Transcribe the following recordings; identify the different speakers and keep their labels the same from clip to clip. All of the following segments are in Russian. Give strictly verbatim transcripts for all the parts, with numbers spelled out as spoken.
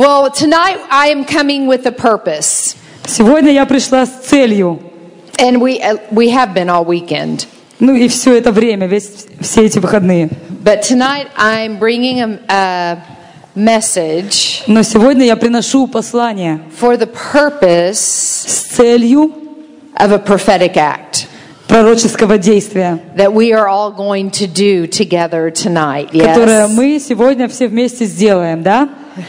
Speaker 1: Well, tonight I am coming with a purpose.
Speaker 2: Сегодня я пришла с целью.
Speaker 1: And we uh, we have been all weekend.
Speaker 2: Ну и все это время, весь, все эти выходные.
Speaker 1: But tonight I'm bringing a, a message.
Speaker 2: Но сегодня я приношу послание
Speaker 1: For the purpose
Speaker 2: с целью
Speaker 1: of a prophetic act.
Speaker 2: Пророческого действия,
Speaker 1: That we are all going to do together tonight. Yes?
Speaker 2: которое мы сегодня все вместе сделаем, да?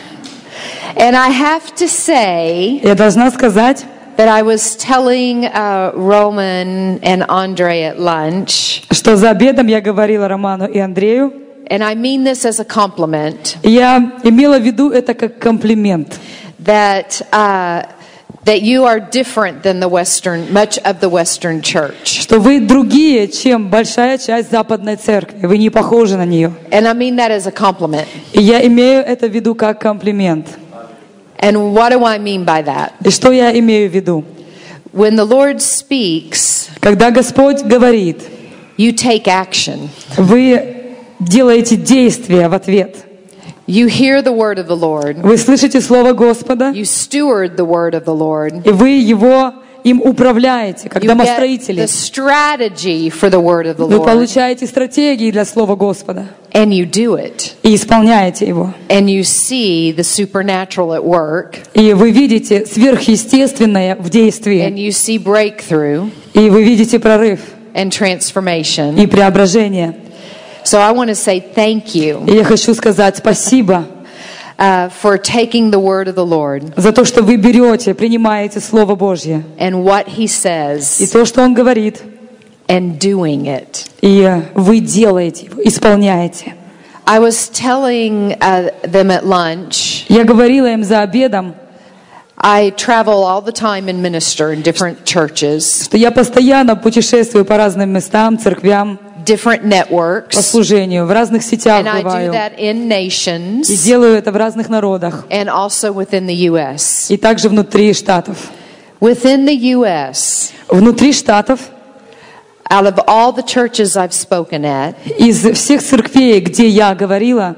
Speaker 1: And I have to say
Speaker 2: Я должна сказать,
Speaker 1: that I was telling uh, Roman and Andre at lunch,
Speaker 2: что за обедом я говорила Роману и Андрею,
Speaker 1: and I mean this as a compliment,
Speaker 2: и я имела в виду это как комплимент,
Speaker 1: that uh, that you are different than the Western, much of the Western church.
Speaker 2: что вы другие, чем большая часть Западной Церкви, вы не похожи на нее.
Speaker 1: And I mean that as a compliment.
Speaker 2: И я имею это в виду как комплимент.
Speaker 1: And what do I mean by that?
Speaker 2: И что я имею в виду?
Speaker 1: When the Lord speaks,
Speaker 2: Когда Господь говорит,
Speaker 1: you take action.
Speaker 2: вы делаете действия в ответ.
Speaker 1: You hear the word of the Lord.
Speaker 2: Вы слышите Слово Господа,
Speaker 1: You steward the word of the Lord.
Speaker 2: и вы его им управляете, как
Speaker 1: You get
Speaker 2: домостроители.
Speaker 1: the strategy for the word of the
Speaker 2: Вы
Speaker 1: Lord.
Speaker 2: получаете стратегии для Слова Господа
Speaker 1: And you do it.
Speaker 2: и исполняете его.
Speaker 1: And you see the supernatural at work.
Speaker 2: И вы видите сверхъестественное в
Speaker 1: And
Speaker 2: действии.
Speaker 1: you see breakthrough
Speaker 2: И вы видите прорыв
Speaker 1: and transformation.
Speaker 2: и преображение.
Speaker 1: So I want to say thank you
Speaker 2: И я хочу сказать спасибо
Speaker 1: uh, for taking the word of the Lord
Speaker 2: за то, что вы берете, принимаете Слово Божье.
Speaker 1: and what He
Speaker 2: И
Speaker 1: says
Speaker 2: то, что Он говорит.
Speaker 1: and doing it.
Speaker 2: И вы делаете его, исполняете.
Speaker 1: I was telling uh, them at lunch,
Speaker 2: Я говорила им за обедом,
Speaker 1: I travel all the time and minister in different churches,
Speaker 2: что я постоянно путешествую по разным местам, церквям,
Speaker 1: different
Speaker 2: по
Speaker 1: networks,
Speaker 2: служению, в разных сетях
Speaker 1: and I do
Speaker 2: бываю.
Speaker 1: that in
Speaker 2: И
Speaker 1: nations
Speaker 2: делаю это в разных народах.
Speaker 1: and also within the U S.
Speaker 2: И также внутри штатов.
Speaker 1: Within the U S,
Speaker 2: Внутри штатов,
Speaker 1: out of all the churches I've spoken at,
Speaker 2: из всех церквей, где я говорила,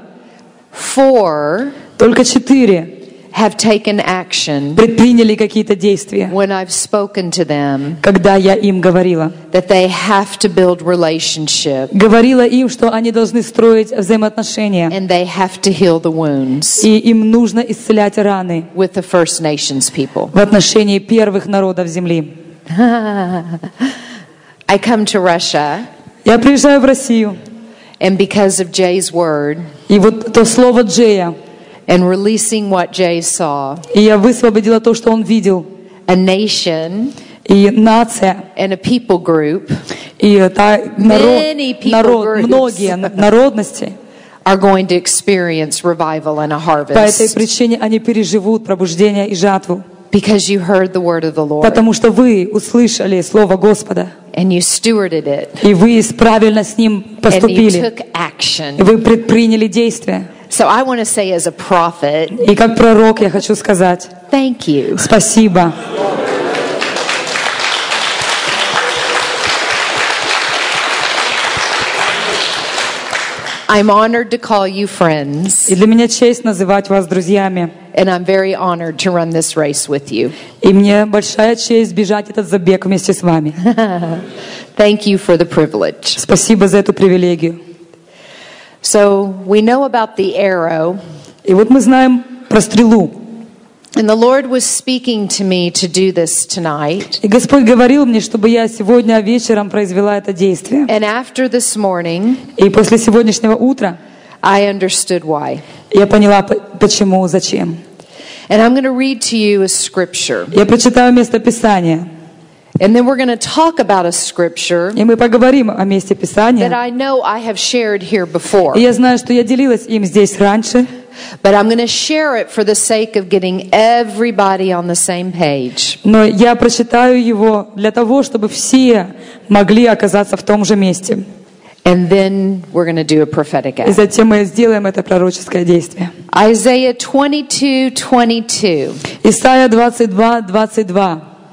Speaker 1: four
Speaker 2: только четыре
Speaker 1: have taken action
Speaker 2: предприняли какие-то действия,
Speaker 1: when I've spoken to them
Speaker 2: когда я им говорила.
Speaker 1: that they have to build relationship
Speaker 2: Говорила им, что они должны строить взаимоотношения,
Speaker 1: and they have to heal the wounds
Speaker 2: и им нужно исцелять раны
Speaker 1: with the First Nations people.
Speaker 2: в отношении первых народов земли.
Speaker 1: I come to Russia,
Speaker 2: Я приезжаю в Россию,
Speaker 1: and because of Jay's word
Speaker 2: и вот то слово Джея,
Speaker 1: and releasing what Jay saw,
Speaker 2: и я высвободила то, что он видел,
Speaker 1: a nation
Speaker 2: и нация,
Speaker 1: and a people group
Speaker 2: и та, народ,
Speaker 1: Many people
Speaker 2: народ,
Speaker 1: groups.
Speaker 2: многие народности,
Speaker 1: are going to experience revival and a
Speaker 2: по этой
Speaker 1: harvest
Speaker 2: причине они переживут пробуждение и жатву,
Speaker 1: because you heard the word of the Lord
Speaker 2: потому что вы услышали Слово Господа,
Speaker 1: and you stewarded it
Speaker 2: и вы правильно с ним
Speaker 1: and you
Speaker 2: поступили,
Speaker 1: took
Speaker 2: и
Speaker 1: action.
Speaker 2: вы предприняли действия.
Speaker 1: So I want to say as a prophet,
Speaker 2: И как пророк я хочу сказать
Speaker 1: thank you.
Speaker 2: спасибо.
Speaker 1: I'm honored to call you friends,
Speaker 2: И для меня честь называть вас друзьями.
Speaker 1: and I'm very honored to run this race with you.
Speaker 2: И мне большая честь бежать этот забег вместе с вами.
Speaker 1: Thank you for the privilege.
Speaker 2: Спасибо за эту привилегию.
Speaker 1: So we know about the arrow,
Speaker 2: И вот мы знаем про стрелу.
Speaker 1: and the Lord was speaking to me to do this tonight.
Speaker 2: И Господь говорил мне, чтобы я сегодня вечером произвела это действие.
Speaker 1: And after this morning,
Speaker 2: И после сегодняшнего утра
Speaker 1: I understood why.
Speaker 2: я поняла, п- почему, зачем.
Speaker 1: And I'm going to read to you a scripture.
Speaker 2: Я прочитаю место Писания.
Speaker 1: And then we're going to talk about a scripture
Speaker 2: И мы поговорим о месте
Speaker 1: that
Speaker 2: Писания.
Speaker 1: I know I have shared here before.
Speaker 2: И я знаю, что я делилась им здесь раньше.
Speaker 1: But I'm going to share it for the sake of getting everybody on the same page.
Speaker 2: Но я прочитаю его для того, чтобы все могли оказаться в том же месте.
Speaker 1: And then we're going to do a prophetic
Speaker 2: И
Speaker 1: act.
Speaker 2: затем мы сделаем это пророческое действие.
Speaker 1: Isaiah twenty-two twenty-two.
Speaker 2: Исайя двадцать два двадцать два.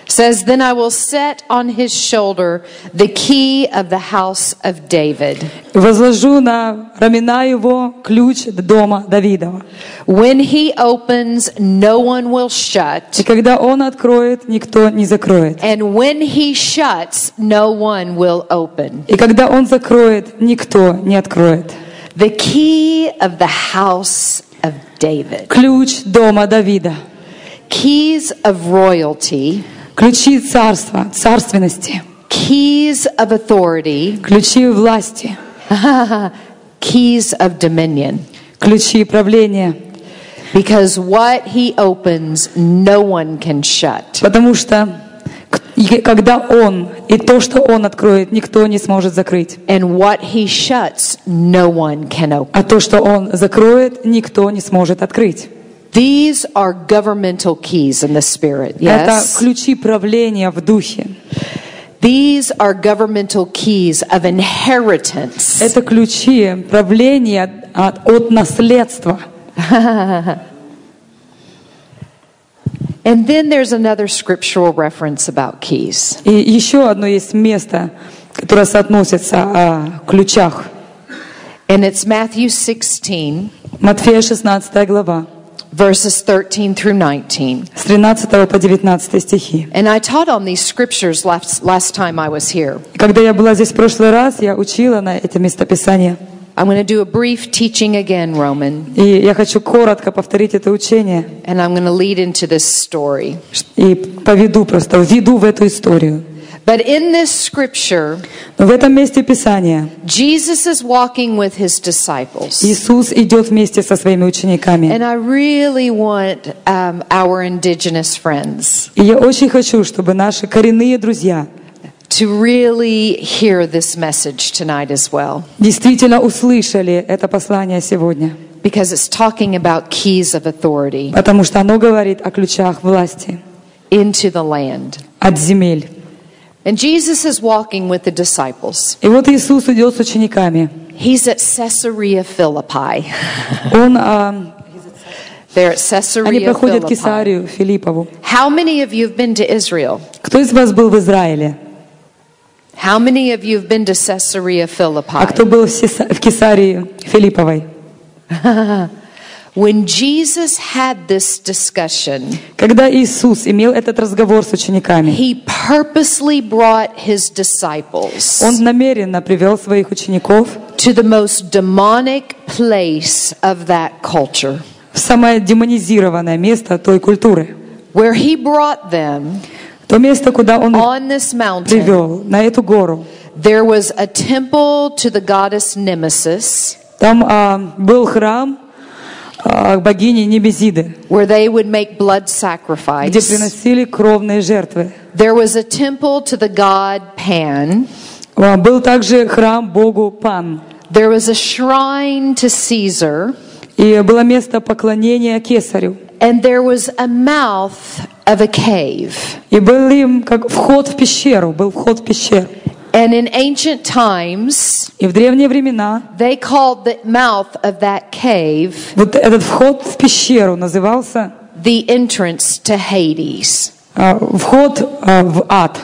Speaker 1: says, "Then I will set on his shoulder the key of the house of David.
Speaker 2: Возложу на рамена его ключ дома Давидова.
Speaker 1: When he opens, no one will shut.
Speaker 2: И когда он откроет, никто не закроет.
Speaker 1: And when he shuts, no one will open."
Speaker 2: И когда он закроет, никто не откроет.
Speaker 1: The key of the house of David.
Speaker 2: Ключ дома Давида.
Speaker 1: Keys of royalty.
Speaker 2: Ключи царства, царственности.
Speaker 1: Keys of authority.
Speaker 2: Ключи власти.
Speaker 1: Keys of dominion.
Speaker 2: Ключи правления.
Speaker 1: Because what he opens, no one can shut.
Speaker 2: Потому что и когда он, и то, что он откроет, никто не сможет закрыть.
Speaker 1: And what he shuts, no one can open.
Speaker 2: А то, что он закроет, никто не сможет открыть.
Speaker 1: These are governmental keys in the spirit.
Speaker 2: Это
Speaker 1: Yes.
Speaker 2: ключи правления в духе.
Speaker 1: These are governmental keys of inheritance.
Speaker 2: Это ключи правления от, от наследства.
Speaker 1: And then there's another scriptural reference about keys.
Speaker 2: И еще одно есть место, которое соотносится о ключах.
Speaker 1: And it's Matthew sixteen,
Speaker 2: Матфея шестнадцатая глава,
Speaker 1: verses thirteen through nineteen.
Speaker 2: с тринадцатого по девятнадцатый стихи.
Speaker 1: And I taught on these scriptures last, last time I was here.
Speaker 2: И когда я была здесь в прошлый раз, я учила на эти местописания.
Speaker 1: I'm going to do a brief teaching again, Roman,
Speaker 2: И я хочу коротко повторить это учение
Speaker 1: and I'm going to lead into this story.
Speaker 2: и поведу просто, введу в эту историю.
Speaker 1: But in this scripture,
Speaker 2: Но в этом месте Писания
Speaker 1: Jesus is walking with his disciples.
Speaker 2: Иисус идет вместе со своими учениками.
Speaker 1: And I really want um, our indigenous friends
Speaker 2: И я очень хочу, чтобы наши коренные друзья
Speaker 1: to really hear this message tonight as well,
Speaker 2: действительно услышали это послание сегодня,
Speaker 1: because it's talking about keys of authority
Speaker 2: потому что оно говорит о ключах власти
Speaker 1: into the land.
Speaker 2: от земель.
Speaker 1: And Jesus is walking with the disciples.
Speaker 2: И вот Иисус идет с учениками.
Speaker 1: He's at Caesarea Philippi.
Speaker 2: Он, а,
Speaker 1: They're at
Speaker 2: они
Speaker 1: Caesarea
Speaker 2: проходят
Speaker 1: Philippi.
Speaker 2: Кесарию Филиппову.
Speaker 1: How many of you have been to Israel?
Speaker 2: Кто из вас был в Израиле?
Speaker 1: How many of you have been to Caesarea
Speaker 2: А
Speaker 1: Philippi?
Speaker 2: кто был в Сеса- в Кесарии Филипповой?
Speaker 1: When Jesus had this discussion,
Speaker 2: Когда Иисус имел этот разговор с учениками,
Speaker 1: he purposely brought his disciples
Speaker 2: Он намеренно привел своих учеников
Speaker 1: to the most demonic place of that culture,
Speaker 2: в самое демонизированное место той культуры.
Speaker 1: where he brought them
Speaker 2: То место, куда Он их
Speaker 1: on this mountain.
Speaker 2: привел, на эту гору.
Speaker 1: There was a temple to the goddess Nemesis,
Speaker 2: Там а, был храм а, богини Немезиды,
Speaker 1: where they would make blood
Speaker 2: где
Speaker 1: sacrifice.
Speaker 2: приносили кровные жертвы.
Speaker 1: There was a temple to the god Pan.
Speaker 2: А, Был также храм богу Пан.
Speaker 1: There was a shrine to Caesar.
Speaker 2: И было место поклонения Кесарю.
Speaker 1: And there was a mouth of a cave.
Speaker 2: И был им как вход в пещеру, был вход в пещеру.
Speaker 1: And in ancient times,
Speaker 2: И в древние времена
Speaker 1: they called the mouth of that cave
Speaker 2: вот этот вход в пещеру назывался
Speaker 1: the entrance to Hades.
Speaker 2: а, вход а, в ад.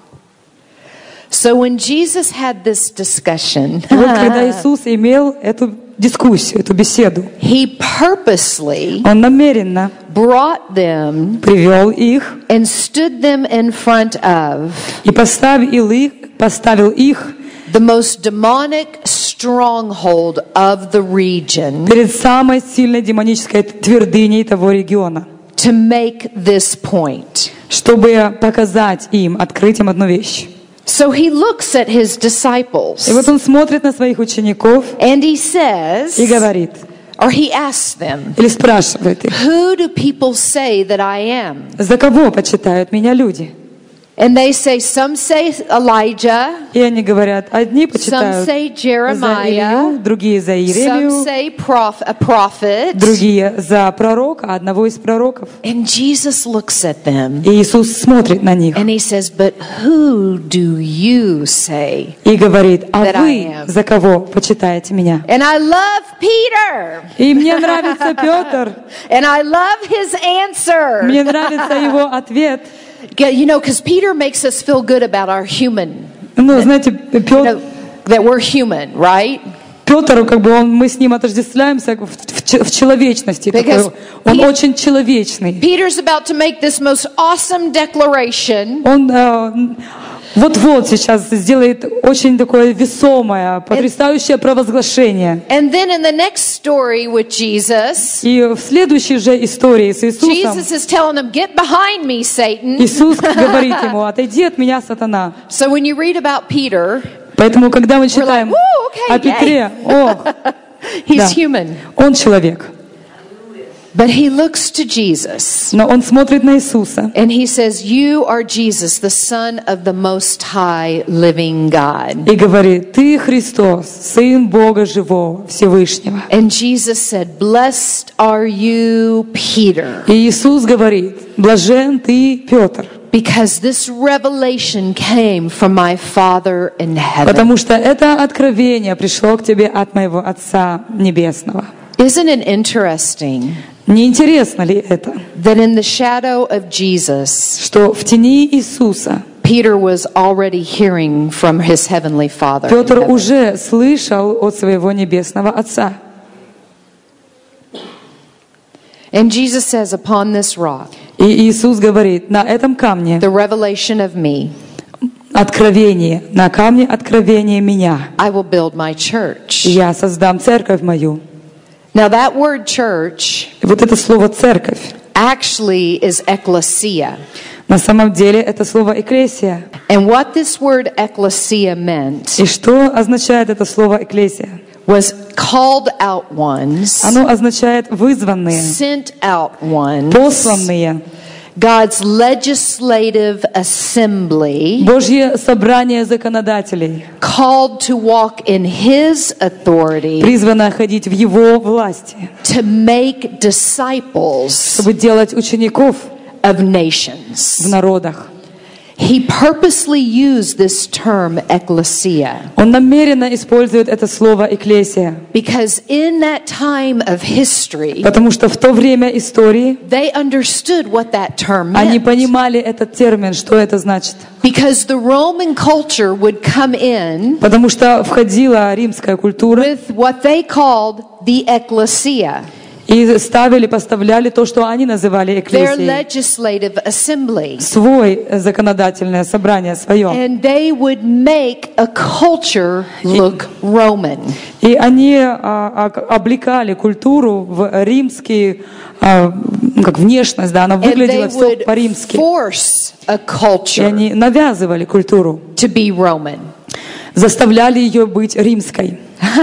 Speaker 1: So when Jesus had this discussion,
Speaker 2: И вот когда Иисус имел эту дискуссию, эту беседу,
Speaker 1: he purposely
Speaker 2: Он намеренно
Speaker 1: brought them
Speaker 2: привел их
Speaker 1: and stood them in front of
Speaker 2: и поставил их, поставил их
Speaker 1: the most demonic stronghold of the region
Speaker 2: перед самой сильной демонической твердыней того региона,
Speaker 1: to make this point.
Speaker 2: чтобы показать им, открыть им одну вещь.
Speaker 1: So he looks at his disciples
Speaker 2: И вот Он смотрит на своих учеников
Speaker 1: and he says,
Speaker 2: и говорит,
Speaker 1: or he asks them,
Speaker 2: или спрашивает их,
Speaker 1: "Who do people say that I am?"
Speaker 2: за кого почитают меня люди?
Speaker 1: And they say, some say Elijah,
Speaker 2: И они говорят, одни
Speaker 1: some
Speaker 2: почитают
Speaker 1: say
Speaker 2: за
Speaker 1: Jeremiah,
Speaker 2: Илью, другие за
Speaker 1: some
Speaker 2: Иеремию,
Speaker 1: say prof- a prophet.
Speaker 2: другие за пророка, одного из пророков.
Speaker 1: And Jesus looks at them
Speaker 2: И Иисус смотрит на них
Speaker 1: and he says, "But who do you say
Speaker 2: и говорит, а
Speaker 1: that I
Speaker 2: вы
Speaker 1: am?"
Speaker 2: за кого почитаете меня?
Speaker 1: And I love Peter.
Speaker 2: И мне нравится Петр,
Speaker 1: And I love his answer.
Speaker 2: мне нравится его ответ.
Speaker 1: you know, because Peter makes us feel good about our human,
Speaker 2: Ну, знаете,
Speaker 1: you
Speaker 2: Петр,
Speaker 1: know, that we're human, right?
Speaker 2: Петр, как бы он, мы с ним отождествляемся в, в, в человечности.
Speaker 1: Because
Speaker 2: Такой, он
Speaker 1: he-
Speaker 2: очень человечный.
Speaker 1: Peter's about to make this most awesome declaration.
Speaker 2: Он э, вот-вот сейчас сделает очень такое весомое, потрясающее провозглашение.
Speaker 1: And then in the next story with Jesus,
Speaker 2: И в следующей же истории с Иисусом
Speaker 1: Jesus is telling him, "Get behind me, Satan."
Speaker 2: Иисус говорит ему: «Отойди от меня, сатана».
Speaker 1: So when you read about Peter,
Speaker 2: Поэтому, когда мы читаем
Speaker 1: like, «Woo, okay,
Speaker 2: о Петре, о,
Speaker 1: he's
Speaker 2: Да.
Speaker 1: human.
Speaker 2: он человек.
Speaker 1: But he looks to Jesus
Speaker 2: Но он смотрит на Иисуса
Speaker 1: and he says, "You are Jesus, the Son of the Most High Living God."
Speaker 2: и говорит: «Ты Христос, Сын Бога Живого, Всевышнего».
Speaker 1: And Jesus said, "Blessed are you, Peter,
Speaker 2: И Иисус говорит: «Блажен ты, Петр,
Speaker 1: because this revelation came from my Father in heaven."
Speaker 2: потому что это откровение пришло к тебе от моего Отца Небесного».
Speaker 1: Isn't it interesting
Speaker 2: Не интересно ли это,
Speaker 1: that in the shadow of Jesus,
Speaker 2: что в тени Иисуса
Speaker 1: Peter was already hearing from his heavenly Father? in
Speaker 2: Петр
Speaker 1: heaven?
Speaker 2: уже слышал от своего Небесного Отца?
Speaker 1: And Jesus says, "Upon this rock,
Speaker 2: И Иисус говорит: «На этом камне
Speaker 1: the revelation of me,
Speaker 2: откровение, на камне откровение меня.
Speaker 1: I will build my church."
Speaker 2: Я создам церковь мою».
Speaker 1: Now that word church
Speaker 2: И вот это слово «церковь»
Speaker 1: actually is ecclesia.
Speaker 2: на самом деле это слово «экклесия».
Speaker 1: And what this word ecclesia meant
Speaker 2: И что означает это слово «экклесия»?
Speaker 1: was called out ones,
Speaker 2: Оно означает «вызванные»,
Speaker 1: sent out ones,
Speaker 2: «посланные»,
Speaker 1: God's legislative assembly,
Speaker 2: Божье собрание законодателей,
Speaker 1: called to walk in His authority
Speaker 2: призвано ходить в Его власти,
Speaker 1: to make disciples
Speaker 2: чтобы делать учеников
Speaker 1: of nations.
Speaker 2: в народах.
Speaker 1: He purposely used this term ecclesia
Speaker 2: Он намеренно использует это слово «экклесия»,
Speaker 1: because in that time of history,
Speaker 2: потому что в то время истории
Speaker 1: they understood what that term
Speaker 2: они
Speaker 1: meant.
Speaker 2: понимали этот термин, что это значит.
Speaker 1: Because the Roman culture would come in
Speaker 2: Потому что входила римская культура
Speaker 1: with what they called the ecclesia,
Speaker 2: и ставили, поставляли то, что они называли
Speaker 1: their
Speaker 2: экклесией,
Speaker 1: legislative assembly.
Speaker 2: свой законодательное собрание свое.
Speaker 1: And they would make a culture look Roman.
Speaker 2: И они а, а, облекали культуру в римский, а, ну, как внешность, да, она
Speaker 1: And they
Speaker 2: выглядела все
Speaker 1: would
Speaker 2: по-римски.
Speaker 1: force a
Speaker 2: И
Speaker 1: culture
Speaker 2: они навязывали культуру,
Speaker 1: to be Roman.
Speaker 2: заставляли ее быть римской.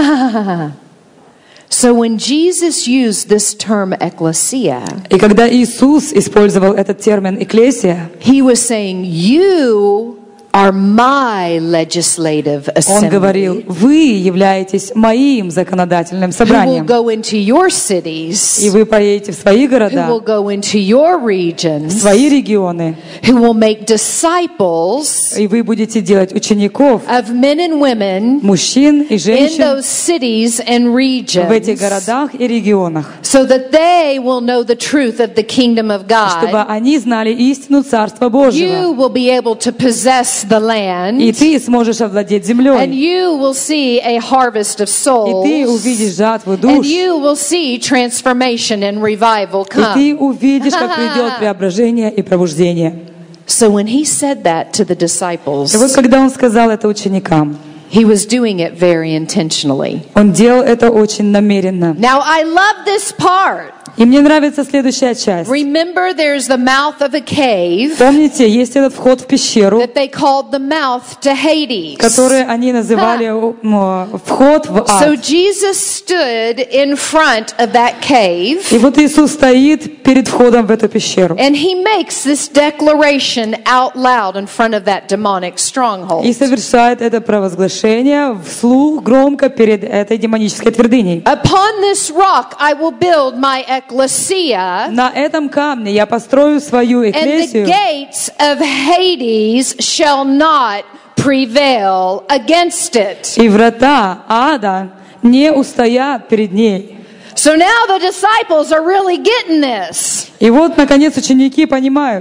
Speaker 1: So when Jesus used this term ecclesia,
Speaker 2: И когда Иисус использовал этот термин «экклесия»,
Speaker 1: he was saying, "You are my legislative
Speaker 2: Он говорил:
Speaker 1: assembly
Speaker 2: «Вы являетесь моим законодательным
Speaker 1: who will
Speaker 2: собранием,
Speaker 1: go into your
Speaker 2: и
Speaker 1: cities,
Speaker 2: вы поедете в свои
Speaker 1: who
Speaker 2: города,
Speaker 1: will go into your
Speaker 2: в
Speaker 1: regions,
Speaker 2: свои регионы,
Speaker 1: who will make disciples
Speaker 2: и вы будете делать учеников,
Speaker 1: of men and women
Speaker 2: мужчин и
Speaker 1: in
Speaker 2: женщин
Speaker 1: those cities and
Speaker 2: в этих
Speaker 1: regions,
Speaker 2: городах и регионах,
Speaker 1: so that they will know the truth of the kingdom of
Speaker 2: чтобы
Speaker 1: God.
Speaker 2: они знали истину Царства Божьего.
Speaker 1: You will be able to possess the land,
Speaker 2: И ты сможешь овладеть
Speaker 1: and
Speaker 2: землей,
Speaker 1: you will see a harvest of
Speaker 2: и
Speaker 1: souls,
Speaker 2: ты увидишь жатву
Speaker 1: and
Speaker 2: душ,
Speaker 1: you will see transformation and revival
Speaker 2: и ты
Speaker 1: come."
Speaker 2: увидишь, как придет преображение и пробуждение.
Speaker 1: So when he said that to the disciples,
Speaker 2: И вот когда он сказал это ученикам,
Speaker 1: he was doing it very intentionally.
Speaker 2: он делал это очень намеренно.
Speaker 1: Now I love this part.
Speaker 2: И мне нравится следующая часть.
Speaker 1: Remember, there's the mouth of a cave
Speaker 2: Помните, есть этот вход в пещеру,
Speaker 1: that they called the mouth to Hades.
Speaker 2: который они называли м, вход в
Speaker 1: So
Speaker 2: ад.
Speaker 1: Jesus stood in front of that cave,
Speaker 2: И вот Иисус стоит перед входом в эту пещеру
Speaker 1: and he makes this declaration out loud in front of that demonic stronghold.
Speaker 2: и совершает это провозглашение вслух громко перед этой демонической твердыней.
Speaker 1: Upon this rock I will build my ecclesia,
Speaker 2: На этом камне я построю свою
Speaker 1: and the
Speaker 2: экклесию,
Speaker 1: gates of Hades shall not prevail against it.
Speaker 2: и врата ада не устоят перед ней.
Speaker 1: So now the disciples are really getting this.
Speaker 2: И вот, наконец, ученики понимают,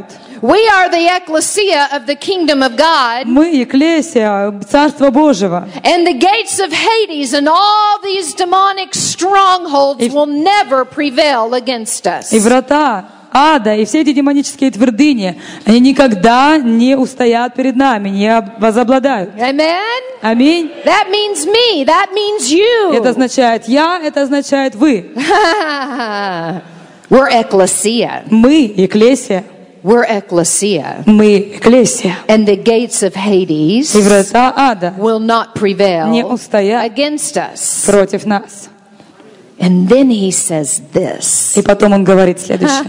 Speaker 1: We are the ecclesia of the kingdom of God.
Speaker 2: Мы Екклесия, Царство Божьего.
Speaker 1: And the gates of Hades and all these demonic strongholds will never prevail against us.
Speaker 2: И врата ада, и все эти демонические твердыни, они никогда не устоят перед нами, не возобладают.
Speaker 1: Amen?
Speaker 2: Аминь.
Speaker 1: That means me. That means you.
Speaker 2: Это означает я, это означает вы.
Speaker 1: We're ecclesia.
Speaker 2: Мы Екклесия.
Speaker 1: We're ecclesia.
Speaker 2: Мы Екклесия.
Speaker 1: And the gates of Hades
Speaker 2: И врата ада
Speaker 1: will not prevail
Speaker 2: не устоят
Speaker 1: against us.
Speaker 2: против нас.
Speaker 1: And then he says this.
Speaker 2: И потом он говорит следующее.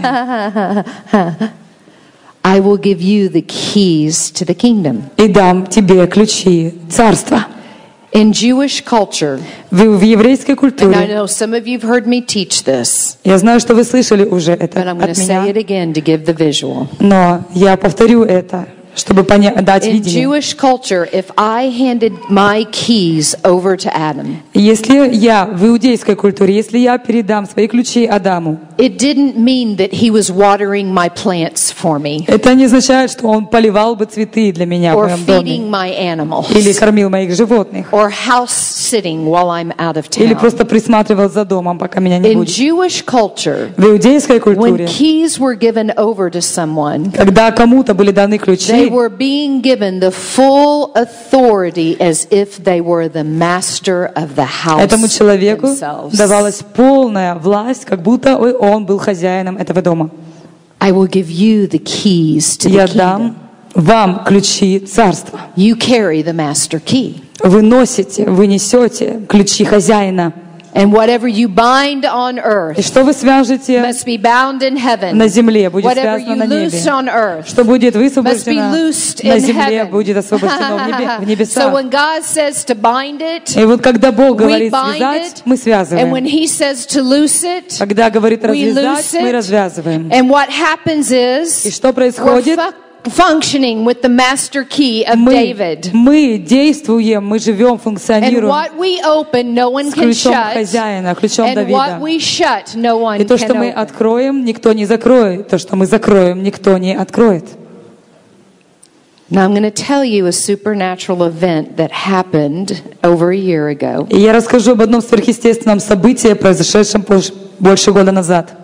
Speaker 1: I will give you the keys to the kingdom.
Speaker 2: И дам тебе ключи царства.
Speaker 1: In Jewish culture,
Speaker 2: В, в еврейской
Speaker 1: and I
Speaker 2: культуре,
Speaker 1: know some of you have heard me teach this,
Speaker 2: я знаю, что вы слышали уже это
Speaker 1: but I'm going
Speaker 2: от
Speaker 1: to say
Speaker 2: меня,
Speaker 1: it again to give the visual.
Speaker 2: но я повторю это, чтобы поня- дать
Speaker 1: In
Speaker 2: видение.
Speaker 1: Jewish culture, if I handed my keys over to Adam,
Speaker 2: Если я в иудейской культуре, если я передам свои ключи Адаму,
Speaker 1: it didn't mean that he was watering my plants for me
Speaker 2: это не означает, что он поливал бы цветы для меня в
Speaker 1: or
Speaker 2: моем доме,
Speaker 1: feeding my animals
Speaker 2: или кормил моих животных,
Speaker 1: or house sitting while I'm out of
Speaker 2: или
Speaker 1: town.
Speaker 2: просто присматривал за домом, пока меня не
Speaker 1: In
Speaker 2: будет.
Speaker 1: Jewish culture,
Speaker 2: В иудейской
Speaker 1: when
Speaker 2: культуре,
Speaker 1: keys were given over to someone,
Speaker 2: когда кому-то были даны
Speaker 1: they
Speaker 2: ключи,
Speaker 1: were being given the full authority as if they were the master of the house
Speaker 2: этому человеку
Speaker 1: themselves.
Speaker 2: давалась полная власть, как будто он был хозяином этого дома.
Speaker 1: I will give you the keys to
Speaker 2: Я
Speaker 1: the kingdom.
Speaker 2: дам вам ключи царства.
Speaker 1: You carry the master key.
Speaker 2: Вы носите, вы несете ключи хозяина.
Speaker 1: And whatever you bind on
Speaker 2: И
Speaker 1: earth
Speaker 2: что вы свяжете
Speaker 1: must be bound in heaven.
Speaker 2: на земле, будет
Speaker 1: Whatever
Speaker 2: связано
Speaker 1: you
Speaker 2: на
Speaker 1: loose
Speaker 2: небе.
Speaker 1: on earth
Speaker 2: Что будет
Speaker 1: must be
Speaker 2: высвобождено
Speaker 1: loosed
Speaker 2: на
Speaker 1: in
Speaker 2: земле,
Speaker 1: heaven.
Speaker 2: будет освобождено в небе- в
Speaker 1: So
Speaker 2: небесах.
Speaker 1: when God says to bind it,
Speaker 2: И вот когда Бог
Speaker 1: we
Speaker 2: говорит
Speaker 1: bind
Speaker 2: связать,
Speaker 1: it.
Speaker 2: мы
Speaker 1: And when
Speaker 2: связываем.
Speaker 1: He says to loose it,
Speaker 2: Когда говорит
Speaker 1: we
Speaker 2: развязать,
Speaker 1: loose
Speaker 2: мы
Speaker 1: it.
Speaker 2: развязываем.
Speaker 1: And what happens
Speaker 2: И
Speaker 1: is
Speaker 2: что
Speaker 1: we're
Speaker 2: происходит?
Speaker 1: fu- functioning with the master key of
Speaker 2: Мы,
Speaker 1: David.
Speaker 2: мы действуем, мы живем,
Speaker 1: And
Speaker 2: функционируем
Speaker 1: what we open, no one
Speaker 2: с
Speaker 1: can
Speaker 2: ключом
Speaker 1: shut.
Speaker 2: хозяина, ключом
Speaker 1: And what
Speaker 2: Давида.
Speaker 1: we shut, no one
Speaker 2: И то,
Speaker 1: can
Speaker 2: что мы
Speaker 1: open.
Speaker 2: откроем, никто не закроет. То, что мы закроем, никто не откроет.
Speaker 1: Now I'm going to tell you a supernatural event that happened over a year ago.
Speaker 2: И я расскажу об одном сверхъестественном событии, произошедшем больше- больше года назад.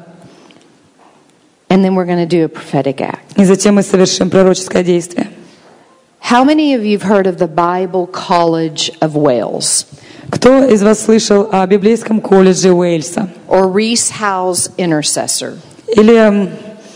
Speaker 1: And then we're going to do a prophetic act.
Speaker 2: И затем мы совершим пророческое действие.
Speaker 1: How many of you have heard of the Bible College of Wales
Speaker 2: Кто из вас слышал о библейском колледже Уэльса?
Speaker 1: or Rees Howes Intercessor?
Speaker 2: Или м,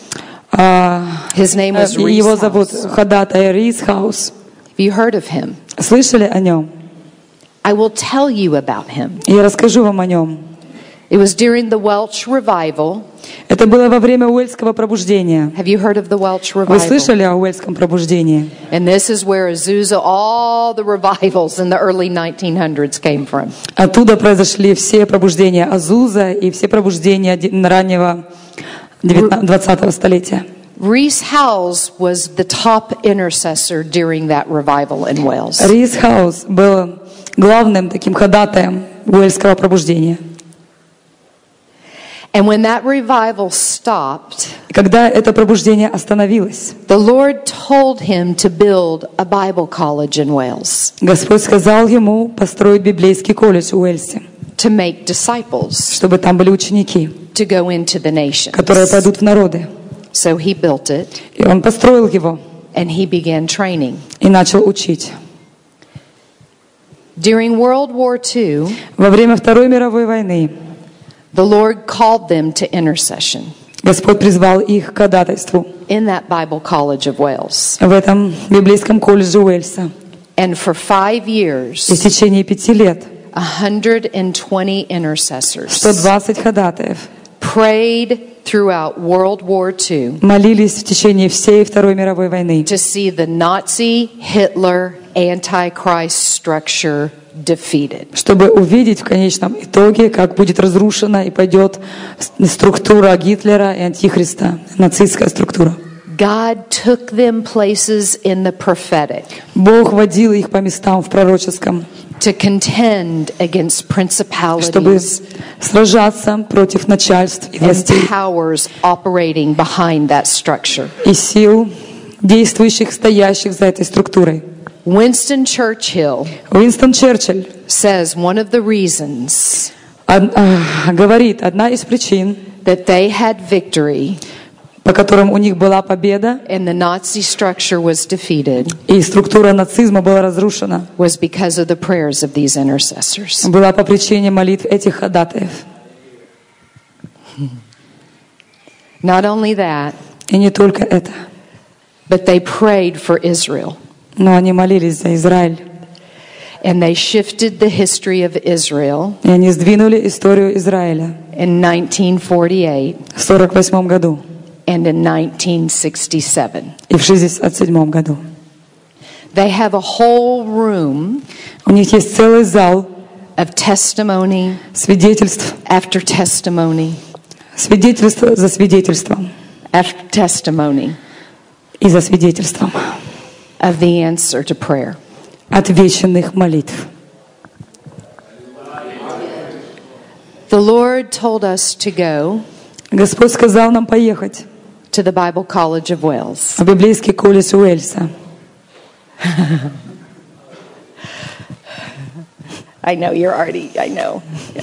Speaker 2: а,
Speaker 1: His name was
Speaker 2: э,
Speaker 1: Rees
Speaker 2: его зовут
Speaker 1: Howes.
Speaker 2: ходатай Рис Хаус.
Speaker 1: Have you heard of him?
Speaker 2: Слышали о нем?
Speaker 1: I will tell you about him.
Speaker 2: Я расскажу вам о нем.
Speaker 1: It was during the Welsh revival.
Speaker 2: Это было во время Уэльского пробуждения.
Speaker 1: Have you heard of the Welsh
Speaker 2: Вы
Speaker 1: revival?
Speaker 2: слышали о Уэльском пробуждении?
Speaker 1: And this is where Azusa, all the revivals in the early nineteen hundreds came from.
Speaker 2: Оттуда произошли все пробуждения Азуза и все пробуждения ди- раннего девятнадцатого двадцатого столетия.
Speaker 1: Rees Howes was the top intercessor during that revival in Wales.
Speaker 2: Рис Хаус был главным таким ходатаем Уэльского пробуждения.
Speaker 1: And when that revival stopped,
Speaker 2: И когда это пробуждение остановилось,
Speaker 1: the Lord told him to build a Bible college in Wales
Speaker 2: Господь сказал ему построить библейский колледж в Уэльсе,
Speaker 1: to make disciples
Speaker 2: чтобы там были ученики,
Speaker 1: to go into the nations.
Speaker 2: которые пойдут в народы.
Speaker 1: So he built it
Speaker 2: И он построил его
Speaker 1: and he began training.
Speaker 2: и начал учить.
Speaker 1: During World War Two,
Speaker 2: Во время Второй мировой войны
Speaker 1: the Lord called them to intercession
Speaker 2: Господь призвал их к ходатайству
Speaker 1: in that Bible College of Wales.
Speaker 2: в этом библейском колледже Уэльса.
Speaker 1: And for five
Speaker 2: И
Speaker 1: years,
Speaker 2: в течение пяти лет
Speaker 1: one hundred twenty intercessors
Speaker 2: сто двадцать ходатаев
Speaker 1: prayed throughout World War Two
Speaker 2: молились в течение всей Второй мировой войны,
Speaker 1: to see the Nazi, Hitler, Antichrist structure defeated.
Speaker 2: чтобы увидеть в конечном итоге, как будет разрушена и пойдет структура Гитлера и Антихриста, нацистская структура.
Speaker 1: God took them places in the prophetic
Speaker 2: Бог водил их по местам в пророческом,
Speaker 1: to contend against
Speaker 2: чтобы
Speaker 1: principalities
Speaker 2: сражаться против начальств и
Speaker 1: and
Speaker 2: властей
Speaker 1: powers operating behind that structure.
Speaker 2: и сил, действующих, стоящих за этой структурой.
Speaker 1: Winston Churchill
Speaker 2: Уинстон Черчилль
Speaker 1: says one of the reasons
Speaker 2: од- а, говорит, одна из причин,
Speaker 1: that they had victory
Speaker 2: по которым у них была победа
Speaker 1: and the Nazi structure was defeated
Speaker 2: и структура нацизма была разрушена,
Speaker 1: was because of the prayers of these intercessors.
Speaker 2: была по причине молитв этих ходатаев.
Speaker 1: Not only that,
Speaker 2: И не только это,
Speaker 1: but they prayed for Israel.
Speaker 2: но они молились за Израиль.
Speaker 1: And they shifted the history of Israel
Speaker 2: И они сдвинули историю Израиля
Speaker 1: in nineteen forty-eight
Speaker 2: в сорок восьмом году
Speaker 1: and in nineteen sixty-seven.
Speaker 2: и в шестьдесят седьмом году.
Speaker 1: They have a whole room
Speaker 2: У них есть целый зал
Speaker 1: of testimony
Speaker 2: свидетельств,
Speaker 1: after testimony
Speaker 2: свидетельство за свидетельством
Speaker 1: after testimony
Speaker 2: и за свидетельством
Speaker 1: of the answer to prayer.
Speaker 2: отвеченных молитв.
Speaker 1: The Lord told us to go
Speaker 2: Господь сказал нам поехать
Speaker 1: to the Bible College of Wales.
Speaker 2: в библейский колледж Уэльса.
Speaker 1: I know you're already, I know. Yeah.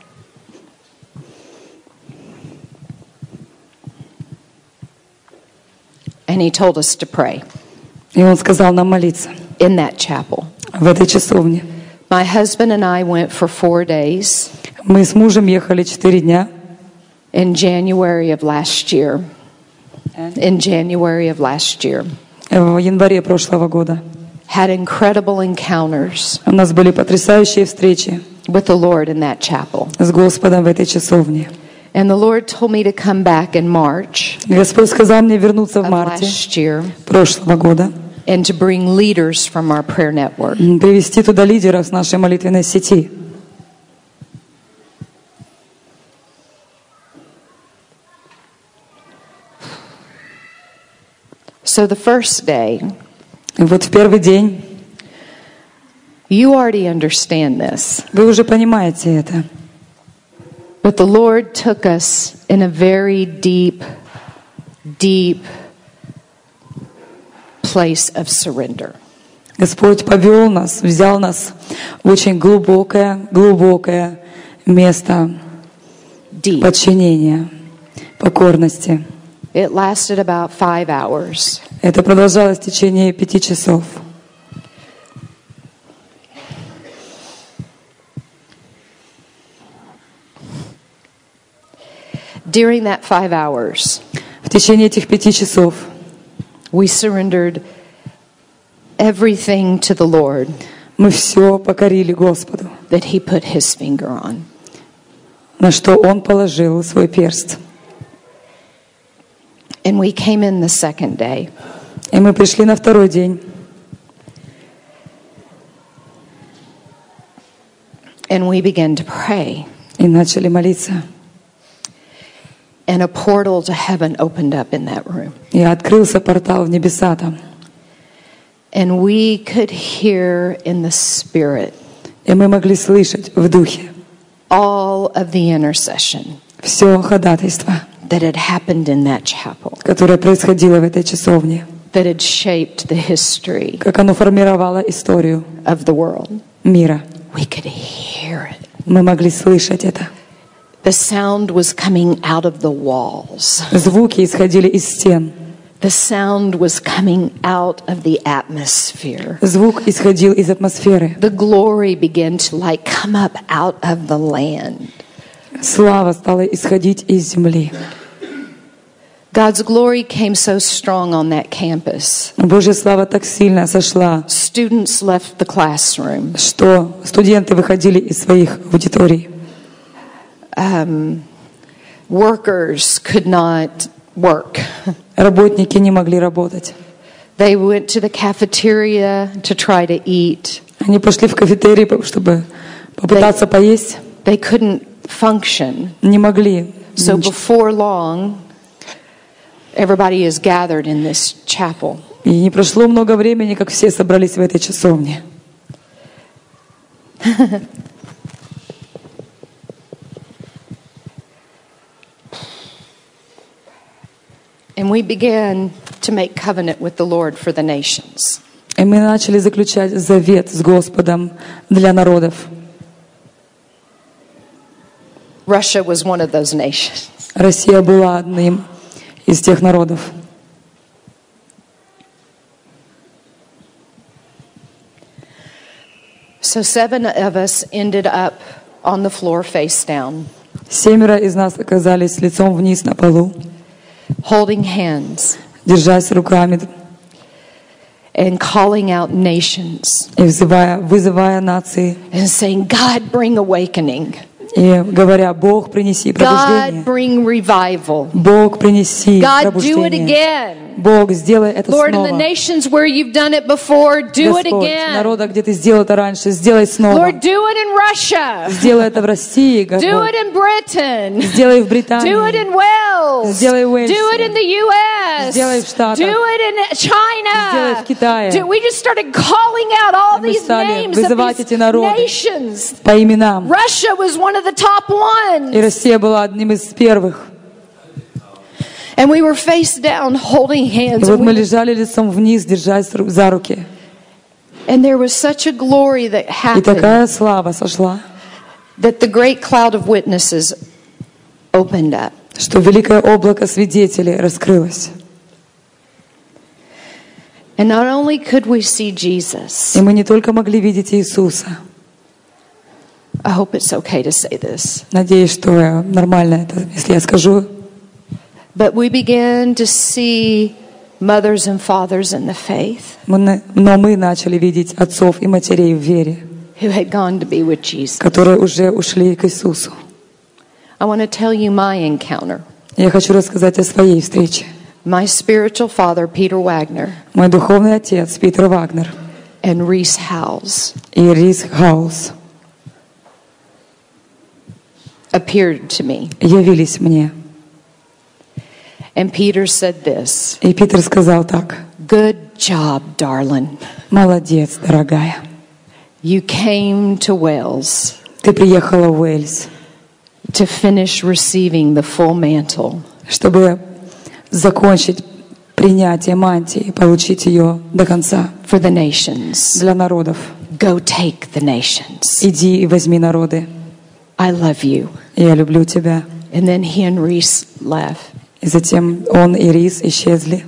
Speaker 1: And he told us to pray
Speaker 2: И Он сказал нам молиться
Speaker 1: in that chapel.
Speaker 2: в этой часовне.
Speaker 1: My husband and I went for four days
Speaker 2: Мы с мужем ехали четыре дня
Speaker 1: in January of last year. In January of last year.
Speaker 2: в январе прошлого года.
Speaker 1: Had incredible encounters
Speaker 2: У нас были потрясающие встречи
Speaker 1: with the Lord in that chapel.
Speaker 2: с Господом в этой часовне.
Speaker 1: And the Lord told me to come back in March
Speaker 2: Господь сказал мне вернуться в
Speaker 1: of
Speaker 2: марте
Speaker 1: last year
Speaker 2: прошлого года,
Speaker 1: and to bring leaders from our prayer network.
Speaker 2: привести туда лидеров с нашей молитвенной сети.
Speaker 1: So the first day,
Speaker 2: И вот в первый день,
Speaker 1: you already understand this,
Speaker 2: вы уже понимаете это,
Speaker 1: but the Lord took us in a very deep, deep place of surrender.
Speaker 2: Господь повел нас, взял нас в очень глубокое, глубокое место
Speaker 1: Deep.
Speaker 2: подчинения, покорности.
Speaker 1: It lasted about five hours.
Speaker 2: Это продолжалось в течение пяти часов.
Speaker 1: During that five hours,
Speaker 2: В течение этих пяти часов
Speaker 1: we surrendered everything to the Lord
Speaker 2: мы все покорили Господу,
Speaker 1: that He put His finger on.
Speaker 2: на что Он положил свой перст.
Speaker 1: And we came in the second day.
Speaker 2: И мы пришли на второй день.
Speaker 1: And we began to pray.
Speaker 2: И начали молиться.
Speaker 1: And a portal to heaven opened up in that room.
Speaker 2: И открылся портал в небеса там.
Speaker 1: And we could hear in the Spirit
Speaker 2: И мы могли слышать в духе
Speaker 1: all of the intercession
Speaker 2: все ходатайство,
Speaker 1: that had happened in that chapel,
Speaker 2: которое происходило в этой часовне,
Speaker 1: that had shaped the history
Speaker 2: как оно формировало историю
Speaker 1: of the world.
Speaker 2: мира.
Speaker 1: We could hear it.
Speaker 2: Мы могли слышать это.
Speaker 1: The sound was coming out of the walls.
Speaker 2: Звуки исходили из стен.
Speaker 1: The sound was coming out of the atmosphere.
Speaker 2: Звук исходил из атмосферы.
Speaker 1: The glory began to like come up out of the land.
Speaker 2: Слава стала исходить из земли.
Speaker 1: God's glory came so strong on that campus.
Speaker 2: Божья слава так сильно сошла,
Speaker 1: Students left the classroom.
Speaker 2: что студенты выходили из своих аудиторий.
Speaker 1: Um, workers could not work.
Speaker 2: Работники не могли работать.
Speaker 1: They went to the cafeteria to try to eat.
Speaker 2: Они пошли в кафетерий, чтобы попытаться поесть.
Speaker 1: They couldn't function.
Speaker 2: Не могли.
Speaker 1: So before long, everybody is gathered in this chapel.
Speaker 2: И не прошло много времени, как все собрались в этой часовне.
Speaker 1: And we began to make covenant with the Lord for the nations.
Speaker 2: И мы начали заключать завет с Господом для народов.
Speaker 1: Russia was one of those nations.
Speaker 2: Россия была одним из тех народов.
Speaker 1: So seven of us ended up on the floor face down,
Speaker 2: Семеро из нас оказались лицом вниз на полу,
Speaker 1: holding hands
Speaker 2: держась руками
Speaker 1: and calling out nations
Speaker 2: и взывая, вызывая нации,
Speaker 1: and saying, God, bring awakening.
Speaker 2: и говоря: Бог, принеси
Speaker 1: God,
Speaker 2: пробуждение.
Speaker 1: bring revival.
Speaker 2: Бог, принеси
Speaker 1: God, do it
Speaker 2: пробуждение.
Speaker 1: again.
Speaker 2: Бог, сделай это
Speaker 1: Lord, in the
Speaker 2: снова.
Speaker 1: nations where you've done it before, do it
Speaker 2: Господь,
Speaker 1: again.
Speaker 2: народа, где Ты сделал это раньше, сделай снова.
Speaker 1: Lord, do it in Russia.
Speaker 2: Сделай это в России,
Speaker 1: Do
Speaker 2: Господь.
Speaker 1: it in Britain.
Speaker 2: Сделай в
Speaker 1: Do it
Speaker 2: Британии.
Speaker 1: in Wales.
Speaker 2: Сделай в Уэльсе.
Speaker 1: Do it in the U S.
Speaker 2: Сделай в Штатах.
Speaker 1: Do it in China.
Speaker 2: Сделай в Китае.
Speaker 1: Do- we just started calling out all
Speaker 2: Мы
Speaker 1: these
Speaker 2: стали
Speaker 1: names of
Speaker 2: вызывать
Speaker 1: these
Speaker 2: эти народы
Speaker 1: nations.
Speaker 2: по именам.
Speaker 1: Russia was one of the top ones.
Speaker 2: И Россия была одним из первых.
Speaker 1: And we were face down holding
Speaker 2: И
Speaker 1: hands.
Speaker 2: вот
Speaker 1: And,
Speaker 2: мы
Speaker 1: we-
Speaker 2: лежали лицом вниз, держась ру- за руки.
Speaker 1: and there was such a glory that
Speaker 2: И
Speaker 1: happened
Speaker 2: такая слава сошла,
Speaker 1: that the great cloud of witnesses opened up.
Speaker 2: что великое облако свидетелей раскрылось.
Speaker 1: And not only could we see Jesus,
Speaker 2: И мы не только могли видеть Иисуса.
Speaker 1: I hope it's okay to say this,
Speaker 2: Надеюсь, что э, нормально это, если я скажу.
Speaker 1: but we began to see mothers and fathers in the faith
Speaker 2: Мы на- Но мы начали видеть отцов и матерей в вере,
Speaker 1: who had gone to be with Jesus.
Speaker 2: которые уже ушли к Иисусу.
Speaker 1: I want to tell you my encounter.
Speaker 2: Я хочу рассказать о своей встрече.
Speaker 1: My spiritual father, Peter Wagner,
Speaker 2: Мой духовный отец Питер Вагнер
Speaker 1: and Reese Howells
Speaker 2: и Рис Хаус
Speaker 1: appeared to me.
Speaker 2: явились мне.
Speaker 1: And Peter said this,
Speaker 2: И Питер сказал так:
Speaker 1: "Good job, darling.
Speaker 2: молодец, дорогая.
Speaker 1: You came to Wales
Speaker 2: Ты приехала в Уэльс,
Speaker 1: to finish receiving the full mantle.
Speaker 2: чтобы закончить принятие мантии и получить ее до конца
Speaker 1: For the nations.
Speaker 2: для народов.
Speaker 1: Go take the nations.
Speaker 2: Иди и возьми народы.
Speaker 1: I love you."
Speaker 2: Я люблю тебя.
Speaker 1: And then he and Reese left.
Speaker 2: И затем он и Рис исчезли.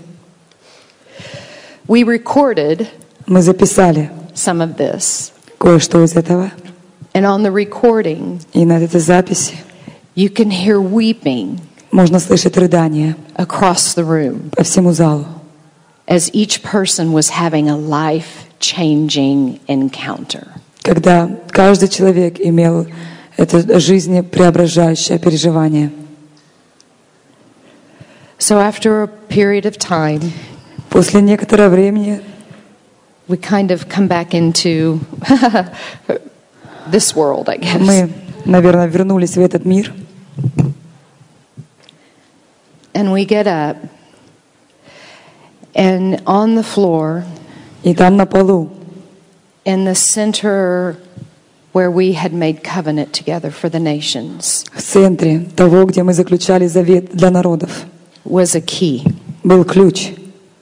Speaker 1: We recorded
Speaker 2: Мы записали
Speaker 1: some of this.
Speaker 2: кое-что из этого.
Speaker 1: And on the recording,
Speaker 2: И на этой записи
Speaker 1: you can hear weeping
Speaker 2: можно слышать рыдания
Speaker 1: across the room
Speaker 2: по всему залу,
Speaker 1: as each person was having a life-changing encounter.
Speaker 2: когда каждый человек имел это жизнепреображающее переживание.
Speaker 1: So after a period of time,
Speaker 2: После некоторого времени
Speaker 1: we kind of come back into this world, I guess.
Speaker 2: мы, наверное, вернулись в этот мир,
Speaker 1: And we get up, and on the floor,
Speaker 2: и там на полу,
Speaker 1: in the center where we had made covenant together for the nations,
Speaker 2: в центре того, где мы заключали завет для народов,
Speaker 1: was a key.
Speaker 2: был ключ.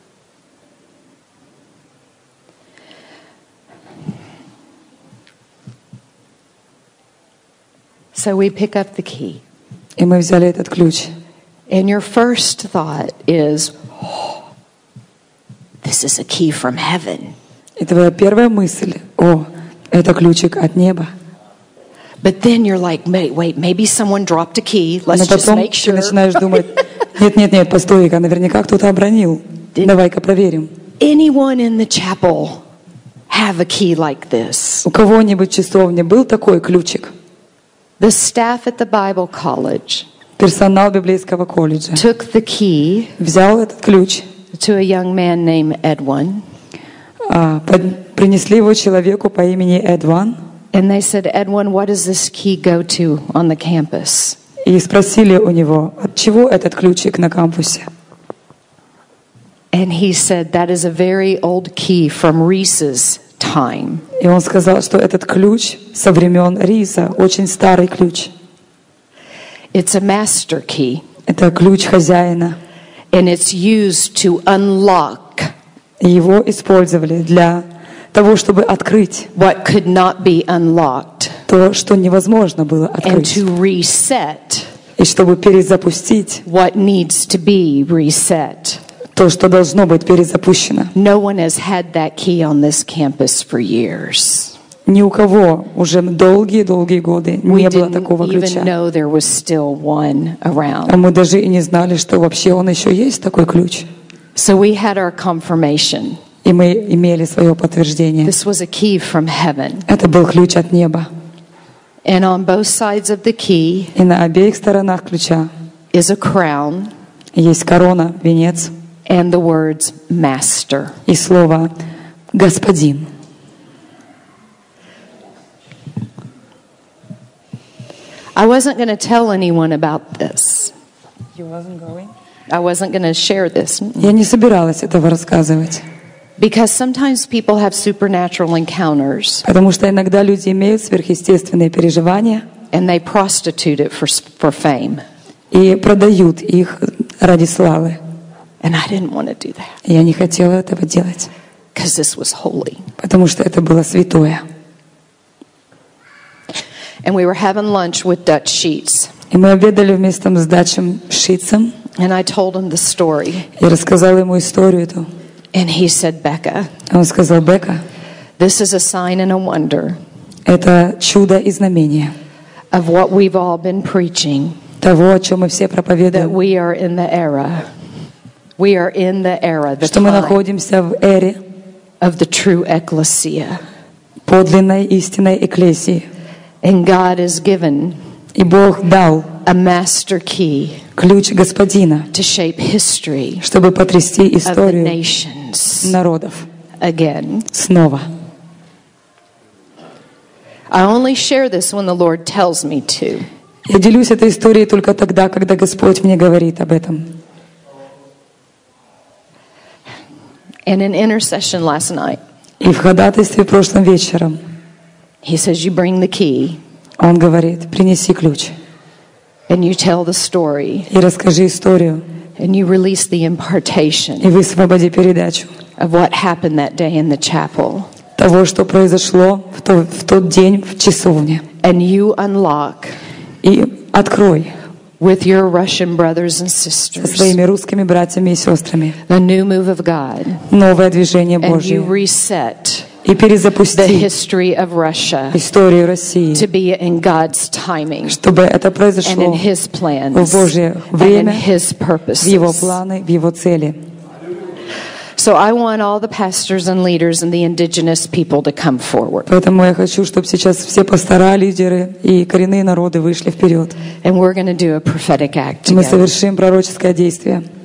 Speaker 1: So we pick up the key.
Speaker 2: И мы взяли этот ключ.
Speaker 1: And your first thought is, oh, this is a key from heaven.
Speaker 2: И твоя первая мысль: о, это ключик от неба.
Speaker 1: But then you're like, wait, wait, maybe someone dropped a key.
Speaker 2: Но
Speaker 1: Let's just
Speaker 2: потом
Speaker 1: make
Speaker 2: ты
Speaker 1: sure.
Speaker 2: начинаешь думать: нет, нет, нет, постой-ка, наверняка кто-то обронил. Давай-ка проверим.
Speaker 1: Anyone in the chapel have a key like this?
Speaker 2: У кого-нибудь в часовне был такой ключик?
Speaker 1: The staff at the Bible college
Speaker 2: Персонал библейского колледжа
Speaker 1: took the key
Speaker 2: взял этот ключ,
Speaker 1: to a young man named Edwin,
Speaker 2: а, под- принесли его человеку по имени Эдван
Speaker 1: and they said, Edwin, what does this key go to on the campus?
Speaker 2: и спросили у него, от чего этот ключик на кампусе.
Speaker 1: And he said, that is a very old key from Reese's time.
Speaker 2: И он сказал, что этот ключ со времен риса, очень старый ключ.
Speaker 1: It's a master key,
Speaker 2: Это ключ хозяина.
Speaker 1: and it's used to unlock
Speaker 2: И его использовали для того, чтобы открыть
Speaker 1: what could not be unlocked
Speaker 2: то, что невозможно было
Speaker 1: and
Speaker 2: открыть.
Speaker 1: to reset
Speaker 2: И чтобы перезапустить
Speaker 1: what needs to be reset.
Speaker 2: то, что должно быть перезапущено.
Speaker 1: No one has had that key on this campus for years.
Speaker 2: Ни у кого уже долгие-долгие годы
Speaker 1: We
Speaker 2: не было
Speaker 1: didn't
Speaker 2: такого
Speaker 1: even
Speaker 2: ключа.
Speaker 1: know there was still one
Speaker 2: А
Speaker 1: around.
Speaker 2: мы даже и не знали, что вообще он еще есть, такой ключ.
Speaker 1: So we had our confirmation.
Speaker 2: И мы имели свое подтверждение.
Speaker 1: This was a key from heaven.
Speaker 2: Это был ключ от неба.
Speaker 1: And on both sides of the key
Speaker 2: И на обеих сторонах ключа
Speaker 1: is a crown
Speaker 2: есть корона, венец
Speaker 1: and the words master.
Speaker 2: и слово «Господин».
Speaker 1: I wasn't going to tell anyone about this. I wasn't going to share this
Speaker 2: Я не собиралась этого рассказывать,
Speaker 1: because sometimes people have supernatural encounters
Speaker 2: потому что иногда люди имеют сверхъестественные переживания
Speaker 1: and they prostitute it for for fame.
Speaker 2: и продают их ради славы.
Speaker 1: And I didn't want to do that
Speaker 2: И я не хотела этого делать,
Speaker 1: because this was holy.
Speaker 2: потому что это было святое.
Speaker 1: And we were having lunch with Dutch Sheets.
Speaker 2: И мы обедали вместе с Датчем Шицем,
Speaker 1: And I told him the story.
Speaker 2: и рассказала ему историю эту.
Speaker 1: And he said, Becca,
Speaker 2: Он сказал: «Бека,
Speaker 1: this is a sign and a wonder
Speaker 2: это чудо и знамение
Speaker 1: of what we've all been preaching,
Speaker 2: того, о чем мы все
Speaker 1: that
Speaker 2: проповедуем,
Speaker 1: we are in the era. We are in the era, the
Speaker 2: что мы
Speaker 1: time
Speaker 2: находимся в эре
Speaker 1: of the true ecclesia.
Speaker 2: подлинной истинной экклесии.
Speaker 1: And God has given
Speaker 2: И Бог дал
Speaker 1: a master key
Speaker 2: ключ Господина,
Speaker 1: to shape history
Speaker 2: чтобы потрясти
Speaker 1: of the
Speaker 2: историю
Speaker 1: nations
Speaker 2: народов
Speaker 1: again.
Speaker 2: снова.
Speaker 1: I only share this when the Lord tells me to.
Speaker 2: Я делюсь этой историей только тогда, когда Господь мне говорит об этом.
Speaker 1: And in intercession last night,
Speaker 2: И в ходатайстве прошлым вечером
Speaker 1: He says, you bring the key
Speaker 2: Он говорит: принеси ключ
Speaker 1: and you tell the story
Speaker 2: и расскажи историю,
Speaker 1: and you release the impartation
Speaker 2: и высвободи передачу
Speaker 1: of what happened that day in the chapel.
Speaker 2: того, что произошло в, то, в тот день в часовне.
Speaker 1: And you unlock
Speaker 2: И открой
Speaker 1: with your Russian brothers and
Speaker 2: со
Speaker 1: sisters
Speaker 2: своими русскими братьями и сестрами
Speaker 1: the new move of God.
Speaker 2: новое движение
Speaker 1: And you
Speaker 2: Божие
Speaker 1: reset
Speaker 2: и
Speaker 1: the
Speaker 2: перезапусти
Speaker 1: history of Russia
Speaker 2: историю России,
Speaker 1: to be in God's timing
Speaker 2: чтобы это
Speaker 1: and in
Speaker 2: произошло
Speaker 1: His plans
Speaker 2: в Божье
Speaker 1: and in
Speaker 2: время,
Speaker 1: His
Speaker 2: в Его
Speaker 1: purposes.
Speaker 2: планы, в Его цели.
Speaker 1: So I want all the pastors and leaders and the indigenous people to come forward.
Speaker 2: Поэтому я хочу, чтобы сейчас все пастора, лидеры и коренные народы вышли вперед.
Speaker 1: And we're going to do a prophetic act
Speaker 2: Мы
Speaker 1: together.
Speaker 2: совершим пророческое действие.